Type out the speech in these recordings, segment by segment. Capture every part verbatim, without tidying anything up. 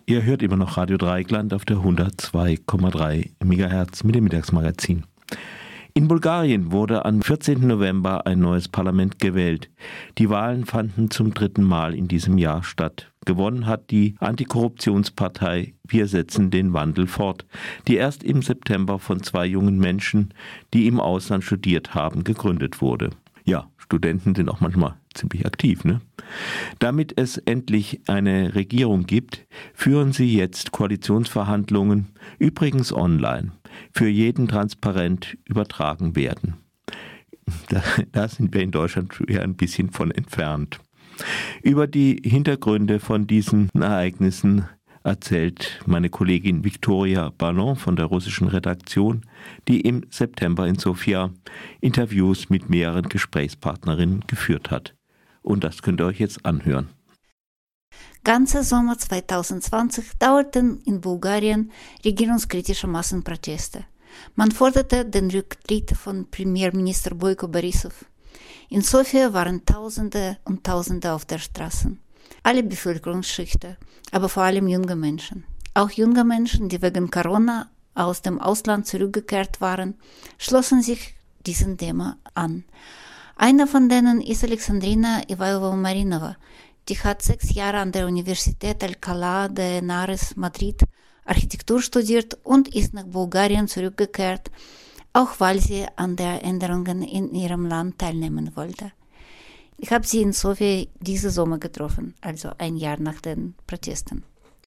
Ihr hört immer noch Radio Dreieckland auf der hundertzwei Komma drei Megahertz mit dem Mittagsmagazin. In Bulgarien wurde am vierzehnten November ein neues Parlament gewählt. Die Wahlen fanden zum dritten Mal in diesem Jahr statt. Gewonnen hat die Antikorruptionspartei Wir setzen den Wandel fort, die erst im September von zwei jungen Menschen, die im Ausland studiert haben, gegründet wurde. Ja, Studenten sind auch manchmal ziemlich aktiv, ne? Damit es endlich eine Regierung gibt, führen sie jetzt Koalitionsverhandlungen, übrigens online, für jeden transparent übertragen werden. Da, da sind wir in Deutschland ja ein bisschen von entfernt. Über die Hintergründe von diesen Ereignissen erzählt meine Kollegin Viktoria Ballon von der russischen Redaktion, die im September in Sofia Interviews mit mehreren Gesprächspartnerinnen geführt hat. Und das könnt ihr euch jetzt anhören. Ganzer Sommer zwanzig zwanzig dauerten in Bulgarien regierungskritische Massenproteste. Man forderte den Rücktritt von Premierminister Boyko Borisov. In Sofia waren Tausende und Tausende auf der Straße. Alle Bevölkerungsschichten, aber vor allem junge Menschen. Auch junge Menschen, die wegen Corona aus dem Ausland zurückgekehrt waren, schlossen sich diesem Thema an. Einer von denen ist Alexandrina Ivailova-Marinova. Die hat sechs Jahre an der Universität Alcalá de Henares Madrid Architektur studiert und ist nach Bulgarien zurückgekehrt, auch weil sie an den Änderungen in ihrem Land teilnehmen wollte. Ich habe sie in Sofia diesen Sommer getroffen, also ein Jahr nach den Protesten.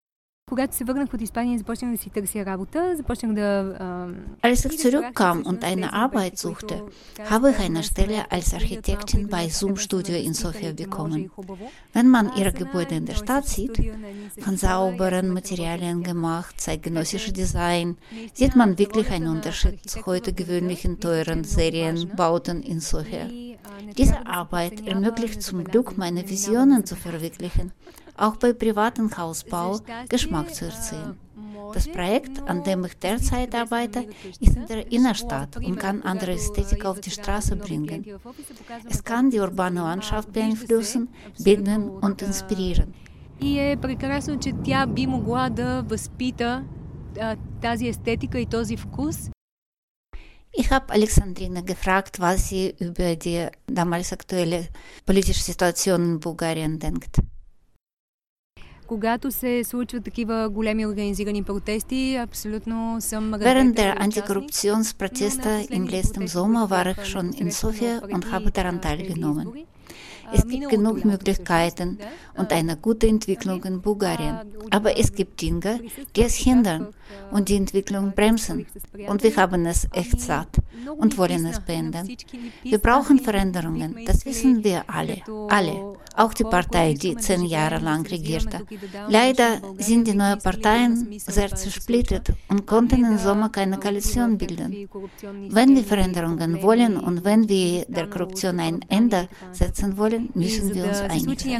Als ich zurückkam und eine Arbeit suchte, habe ich eine Stelle als Architektin bei Zoom Studio in Sofia bekommen. Wenn man ihre Gebäude in der Stadt sieht, von sauberen Materialien gemacht, zeitgenössisches Design, sieht man wirklich einen Unterschied zu heute gewöhnlichen teuren Serienbauten in Sofia. Diese Arbeit ermöglicht zum Glück, meine Visionen zu verwirklichen, auch bei privatem Hausbau Geschmack zu erzielen. Das Projekt, an dem ich derzeit arbeite, ist in der Innenstadt und kann andere Ästhetik auf die Straße bringen. Es kann die urbane Landschaft beeinflussen, binden und inspirieren. И е прекрасно, че тя би могла да възпита тази естетика и този вкус. Ich habe Alexandrina gefragt, was sie über die damals aktuelle politische Situation in Bulgarien denkt. Когато се случват такива големи организирани протести, абсолютно съм... Während der Antikorruptionsproteste im letzten Sommer war ich schon in Sofia und habe daran teilgenommen. Es gibt genug Möglichkeiten und eine gute Entwicklung in Bulgarien. Aber es gibt Dinge, die es hindern und die Entwicklung bremsen. Und wir haben es echt satt und wollen es beenden. Wir brauchen Veränderungen, das wissen wir alle. Alle. Auch die Partei, die zehn Jahre lang regierte. Leider sind die neuen Parteien sehr zersplittert und konnten im Sommer keine Koalition bilden. Wenn wir Veränderungen wollen und wenn wir der Korruption ein Ende setzen wollen, müssen wir uns einig sein.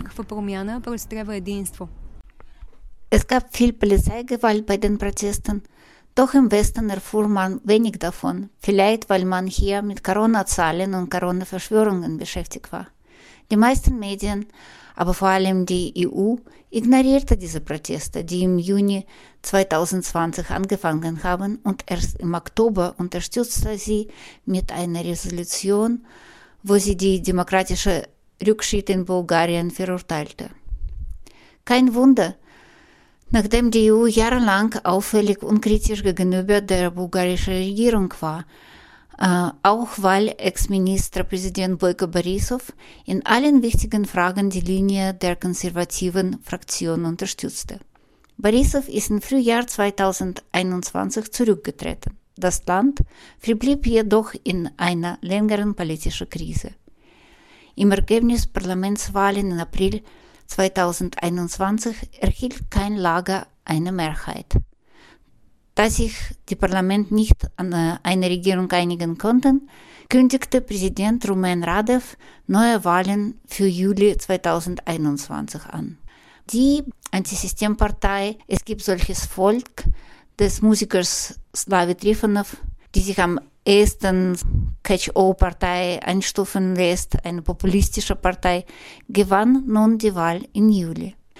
Es gab viel Polizeigewalt bei den Protesten, doch im Westen erfuhr man wenig davon, vielleicht weil man hier mit Corona-Zahlen und Corona-Verschwörungen beschäftigt war. Die meisten Medien, aber vor allem die E U, ignorierte diese Proteste, die im Juni zwanzig zwanzig angefangen haben und erst im Oktober unterstützte sie mit einer Resolution, wo sie die demokratische Rückschritt in Bulgarien verurteilte. Kein Wunder, nachdem die E U jahrelang auffällig unkritisch gegenüber der bulgarischen Regierung war, äh, auch weil Ex-Ministerpräsident Boyko Borisov in allen wichtigen Fragen die Linie der konservativen Fraktion unterstützte. Borisov ist im Frühjahr zwanzig einundzwanzig zurückgetreten. Das Land verblieb jedoch in einer längeren politischen Krise. Im Ergebnis Parlamentswahlen im April zwanzig einundzwanzig erhielt kein Lager eine Mehrheit. Da sich die Parlament nicht an eine Regierung einigen konnten, kündigte Präsident Rumen Radev neue Wahlen für Juli zwanzig einundzwanzig an. Die Antisystempartei Es gibt solches Volk des Musikers Slavi Trifonov, die sich am ehesten Catch-all-Partei einstufen lässt, eine populistische Partei, gewann nun die Wahl im Juli.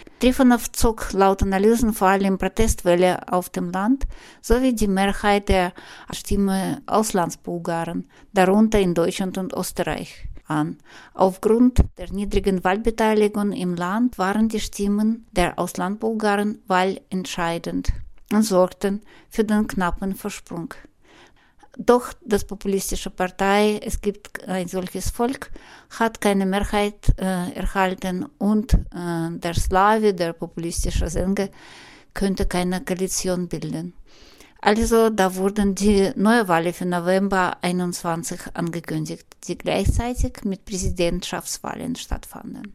Trifonow zog laut Analysen vor allem Protestwelle auf dem Land sowie die Mehrheit der Stimme Auslandsbulgaren, darunter in Deutschland und Österreich, an. Aufgrund der niedrigen Wahlbeteiligung im Land waren die Stimmen der Auslandbulgaren wahlentscheidend und sorgten für den knappen Vorsprung. Doch das populistische Partei Es gibt ein solches Volk hat keine Mehrheit äh, erhalten und äh, der Slawi, der populistische Sänger, könnte keine Koalition bilden. Also da wurden die Neuwahlen für November einundzwanzig angekündigt, die gleichzeitig mit Präsidentschaftswahlen stattfanden.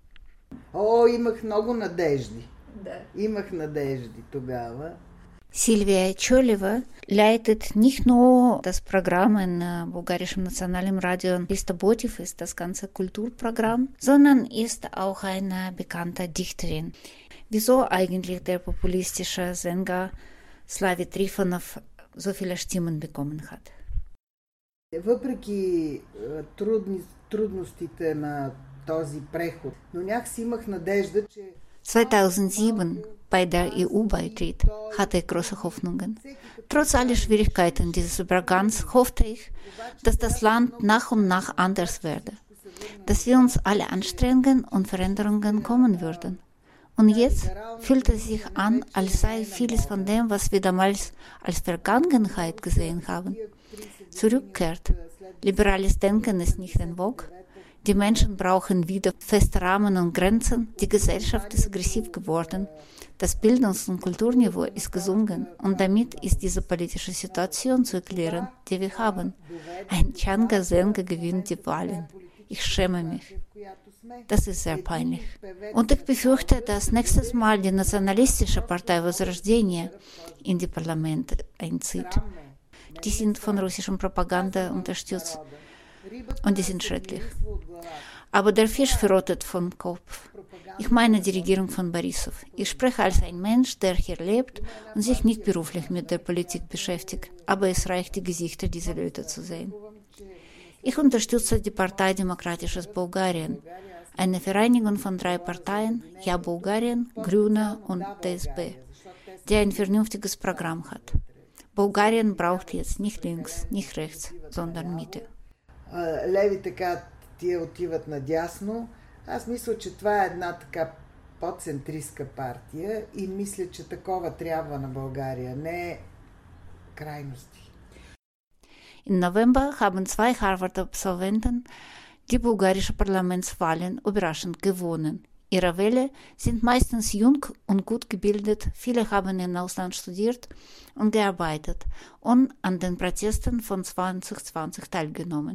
О, имах много надежди. Да. Имах надежди тогава. Silvia Tscholeva leitet nicht nur das Programm in äh, bulgarischem nationalen Radio Listobotiv, ist das ganze Kulturprogramm, sondern ist auch eine bekannte Dichterin. Wieso eigentlich der populistische Sänger Slavi Trifonow so viele Stimmen bekommen hat? Въпреки трудни, трудностите на този преход, но някакси имах надежда, че zweitausendsieben, bei der E U-Beitritt, hatte ich große Hoffnungen. Trotz aller Schwierigkeiten dieses Übergangs hoffte ich, dass das Land nach und nach anders werde, dass wir uns alle anstrengen und Veränderungen kommen würden. Und jetzt fühlt es sich an, als sei vieles von dem, was wir damals als Vergangenheit gesehen haben, zurückkehrt. Liberales Denken ist nicht en vogue. Die Menschen brauchen wieder feste Rahmen und Grenzen. Die Gesellschaft ist aggressiv geworden. Das Bildungs- und Kulturniveau ist gesunken. Und damit ist diese politische Situation zu erklären, die wir haben. Ein Tschanga-Sänger gewinnt die Wahlen. Ich schäme mich. Das ist sehr peinlich. Und ich befürchte, dass nächstes Mal die nationalistische Partei Возрождение in die Parlamente einzieht. Die sind von russischer Propaganda unterstützt. Und die sind schrecklich. Aber der Fisch verrottet vom Kopf. Ich meine die Regierung von Borissow. Ich spreche als ein Mensch, der hier lebt und sich nicht beruflich mit der Politik beschäftigt. Aber es reicht, die Gesichter dieser Leute zu sehen. Ich unterstütze die Partei Demokratisches Bulgarien, eine Vereinigung von drei Parteien, Ja Bulgarien, Grüne und D S B, die ein vernünftiges Programm hat. Bulgarien braucht jetzt nicht links, nicht rechts, sondern Mitte. Леви така тия отиват надясно. Аз мисля, че това е една така по-центристка партия и мисля, че такова трябва на България, не крайности. Im November haben zwei Harvard-Absolventen die bulgarische Parlamentswahlen überraschend gewonnen. Ihre Wähler sind meistens jung und gut gebildet, viele haben im Ausland studiert und gearbeitet und an den Protesten von zwanzig zwanzig teilgenommen.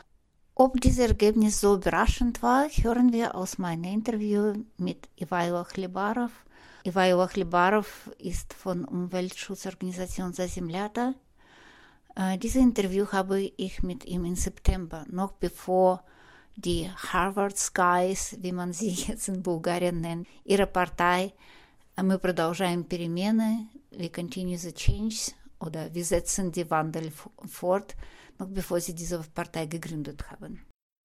Ob dieses Ergebnis so überraschend war, hören wir aus meinem Interview mit Ivailo Khlebarov. Ivailo Khlebarov ist von Umweltschutzorganisation Zazemlyata. Äh, dieses Interview habe ich mit ihm im September, noch bevor die Harvard Skies, wie man sie jetzt in Bulgarien nennt, ihre Partei «Мы продолжаем перемены», «We continue the change» oder «Wir setzen die Wandel fort», noch bevor sie diese Partei gegründet haben.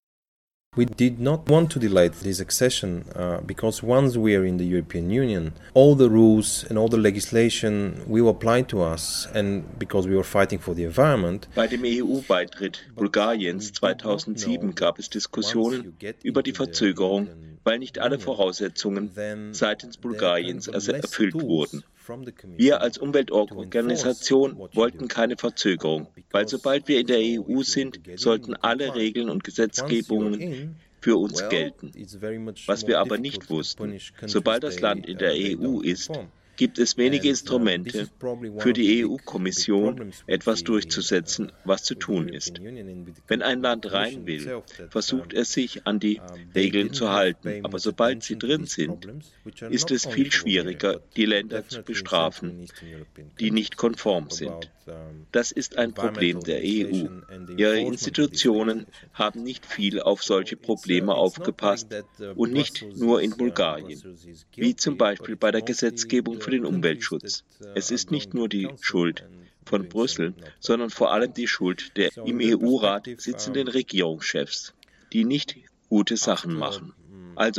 We did not want to delay this accession uh, because once we are in the European Union, all the rules and all the legislation will apply to us, and because we were fighting for the environment. Bei dem E U-Beitritt Bulgariens zweitausendsieben gab es Diskussionen über die Verzögerung, weil nicht alle Voraussetzungen seitens Bulgariens erfüllt wurden. Wir als Umweltorganisation wollten keine Verzögerung, weil sobald wir in der E U sind, sollten alle Regeln und Gesetzgebungen für uns gelten. Was wir aber nicht wussten, sobald das Land in der E U ist, gibt es wenige Instrumente für die E U-Kommission, etwas durchzusetzen, was zu tun ist. Wenn ein Land rein will, versucht es sich an die Regeln zu halten, aber sobald sie drin sind, ist es viel schwieriger, die Länder zu bestrafen, die nicht konform sind. Das ist ein Problem der E U. Ihre Institutionen haben nicht viel auf solche Probleme aufgepasst und nicht nur in Bulgarien, wie zum Beispiel bei der Gesetzgebung für den Umweltschutz. Es ist nicht nur die Schuld von Brüssel, sondern vor allem die Schuld der im E U-Rat sitzenden Regierungschefs, die nicht gute Sachen machen. Also,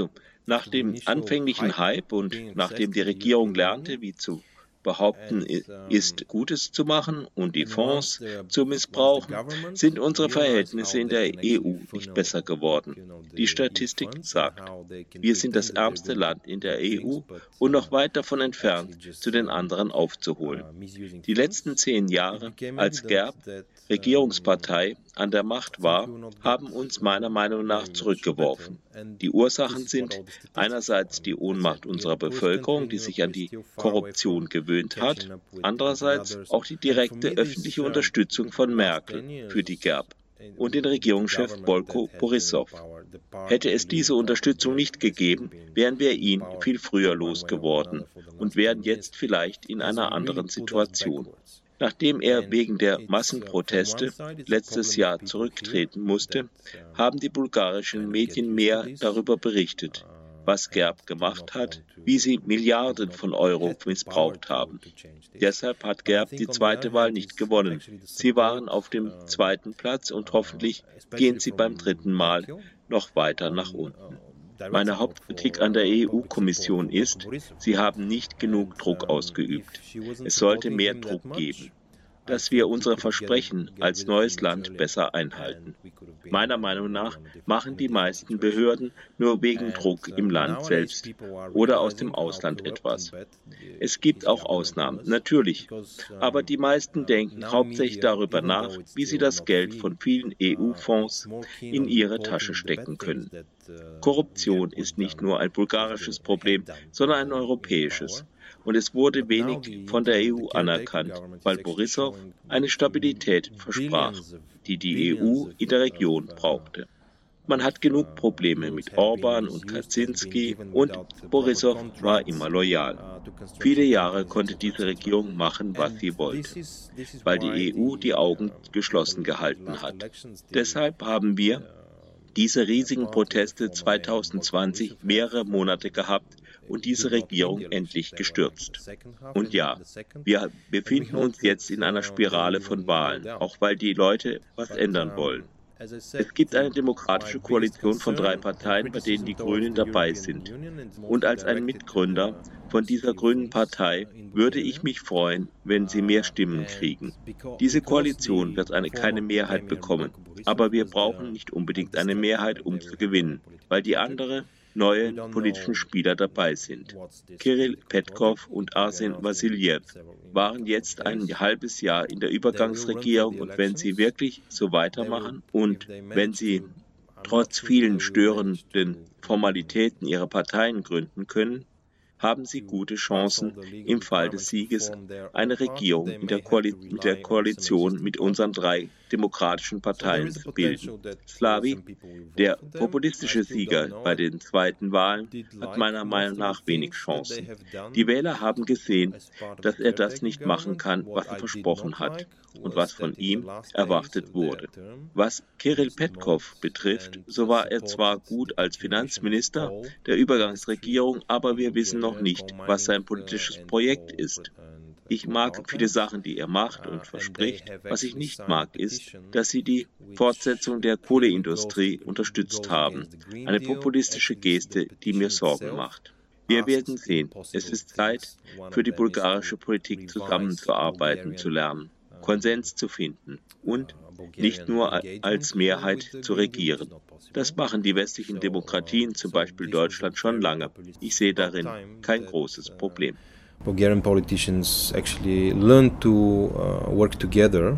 Nach dem anfänglichen Hype und nachdem die Regierung lernte, wie zu behaupten ist, Gutes zu machen und die Fonds zu missbrauchen, sind unsere Verhältnisse in der E U nicht besser geworden. Die Statistik sagt, wir sind das ärmste Land in der E U und noch weit davon entfernt, zu den anderen aufzuholen. Die letzten zehn Jahre, als G E R B, Regierungspartei, an der Macht war, haben uns meiner Meinung nach zurückgeworfen. Die Ursachen sind einerseits die Ohnmacht unserer Bevölkerung, die sich an die Korruption gewöhnt hat, andererseits auch die direkte öffentliche Unterstützung von Merkel für die G E R B und den Regierungschef Boyko Borissow. Hätte es diese Unterstützung nicht gegeben, wären wir ihn viel früher losgeworden und wären jetzt vielleicht in einer anderen Situation. Nachdem er wegen der Massenproteste letztes Jahr zurücktreten musste, haben die bulgarischen Medien mehr darüber berichtet, was G E R B gemacht hat, wie sie Milliarden von Euro missbraucht haben. Deshalb hat G E R B die zweite Wahl nicht gewonnen. Sie waren auf dem zweiten Platz und hoffentlich gehen sie beim dritten Mal noch weiter nach unten. Meine Hauptkritik an der E U-Kommission ist, sie haben nicht genug Druck ausgeübt. Es sollte mehr Druck geben, dass wir unsere Versprechen als neues Land besser einhalten. Meiner Meinung nach machen die meisten Behörden nur wegen Druck im Land selbst oder aus dem Ausland etwas. Es gibt auch Ausnahmen, natürlich, aber die meisten denken hauptsächlich darüber nach, wie sie das Geld von vielen E U-Fonds in ihre Tasche stecken können. Korruption ist nicht nur ein bulgarisches Problem, sondern ein europäisches. Und es wurde wenig von der E U anerkannt, weil Borissow eine Stabilität versprach, die die E U in der Region brauchte. Man hat genug Probleme mit Orban und Kaczynski und Borissow war immer loyal. Viele Jahre konnte diese Regierung machen, was sie wollte, weil die E U die Augen geschlossen gehalten hat. Deshalb haben wir diese riesigen Proteste zweitausendzwanzig mehrere Monate gehabt und diese Regierung endlich gestürzt. Und ja, wir befinden uns jetzt in einer Spirale von Wahlen, auch weil die Leute was ändern wollen. Es gibt eine demokratische Koalition von drei Parteien, bei denen die Grünen dabei sind. Und als ein Mitgründer von dieser grünen Partei würde ich mich freuen, wenn sie mehr Stimmen kriegen. Diese Koalition wird eine, keine Mehrheit bekommen, aber wir brauchen nicht unbedingt eine Mehrheit, um zu gewinnen, weil die andere neue politischen Spieler dabei sind. Kirill Petkov und Arsen Vassiljew waren jetzt ein halbes Jahr in der Übergangsregierung und wenn sie wirklich so weitermachen und wenn sie trotz vielen störenden Formalitäten ihre Parteien gründen können, haben sie gute Chancen, im Fall des Sieges eine Regierung in der Koali- mit der Koalition mit unseren drei demokratischen Parteien zu bilden. Slavi, der populistische Sieger bei den zweiten Wahlen, hat meiner Meinung nach wenig Chancen. Die Wähler haben gesehen, dass er das nicht machen kann, was er versprochen hat und was von ihm erwartet wurde. Was Kirill Petkov betrifft, so war er zwar gut als Finanzminister der Übergangsregierung, aber wir wissen noch nicht, was sein politisches Projekt ist. Ich mag viele Sachen, die er macht und verspricht. Was ich nicht mag, ist, dass sie die Fortsetzung der Kohleindustrie unterstützt haben. Eine populistische Geste, die mir Sorgen macht. Wir werden sehen. Es ist Zeit, für die bulgarische Politik zusammenzuarbeiten, zu lernen, Konsens zu finden und nicht nur als Mehrheit zu regieren. Das machen die westlichen Demokratien, zum Beispiel Deutschland, schon lange. Ich sehe darin kein großes Problem. Bulgarian politicians actually learn to uh, work together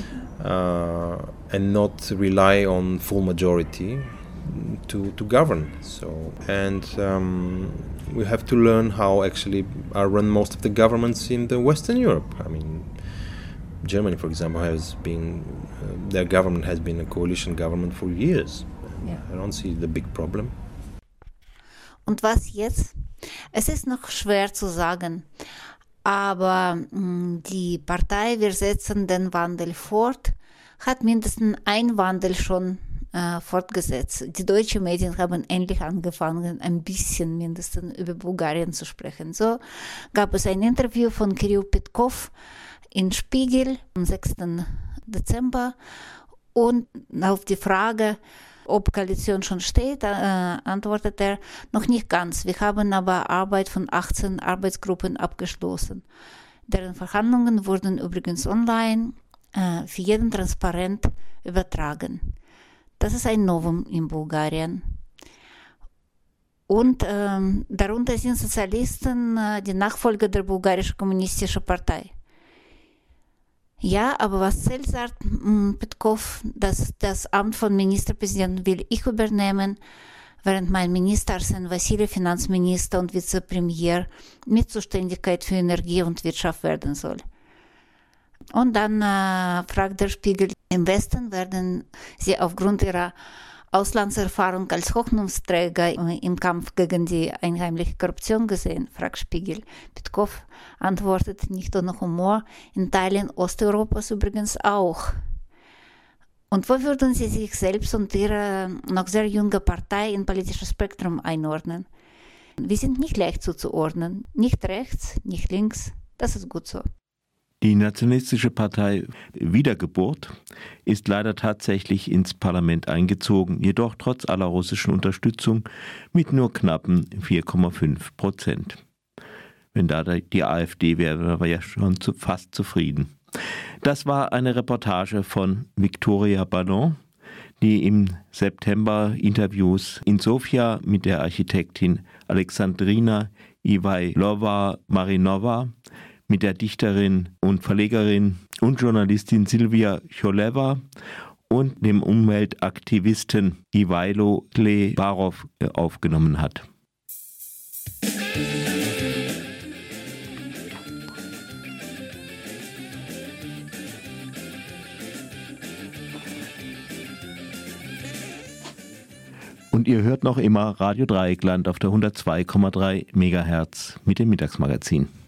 uh, and not rely on full majority to to govern. So and um, we have to learn how actually are run most of the governments in the Western Europe. I mean, Germany, for example, has been uh, their government has been a coalition government for years. Yeah. I don't see the big problem. Und was jetzt? Es ist noch schwer zu sagen, aber mh, die Partei Wir setzen den Wandel fort hat mindestens einen Wandel schon äh, fortgesetzt. Die deutschen Medien haben endlich angefangen, ein bisschen mindestens über Bulgarien zu sprechen. So gab es ein Interview von Kirill Petkov in Spiegel am sechsten Dezember und auf die Frage, Ob Koalition schon steht, äh, antwortet er, noch nicht ganz. Wir haben aber Arbeit von achtzehn Arbeitsgruppen abgeschlossen. Deren Verhandlungen wurden übrigens online äh, für jeden transparent übertragen. Das ist ein Novum in Bulgarien. Und ähm, darunter sind Sozialisten, äh, die Nachfolger der bulgarischen kommunistischen Partei. Ja, aber was zählt, sagt Petkov, dass das Amt von Ministerpräsidenten will ich übernehmen, während mein Minister Arsen Vassili Finanzminister und Vizepremier mit Zuständigkeit für Energie und Wirtschaft werden soll. Und dann äh, fragt der Spiegel, im Westen werden sie aufgrund ihrer Auslandserfahrung als Hoffnungsträger im Kampf gegen die einheimliche Korruption gesehen, fragt Spiegel. Petkov antwortet nicht ohne Humor, in Teilen Osteuropas übrigens auch. Und wo würden Sie sich selbst und Ihre noch sehr junge Partei im politischen Spektrum einordnen? Wir sind nicht leicht zuzuordnen, nicht rechts, nicht links, das ist gut so. Die nationalistische Partei Wiedergeburt ist leider tatsächlich ins Parlament eingezogen, jedoch trotz aller russischen Unterstützung mit nur knappen vier Komma fünf Prozent. Wenn da die AfD wäre, wären wir ja schon zu, fast zufrieden. Das war eine Reportage von Viktoria Ballon, die im September Interviews in Sofia mit der Architektin Alexandrina Ivailova-Marinova, mit der Dichterin und Verlegerin und Journalistin Silvia Choleva und dem Umweltaktivisten Ivailo Klebarov aufgenommen hat. Und ihr hört noch immer Radio Dreieckland auf der hundertzwei Komma drei Megahertz mit dem Mittagsmagazin.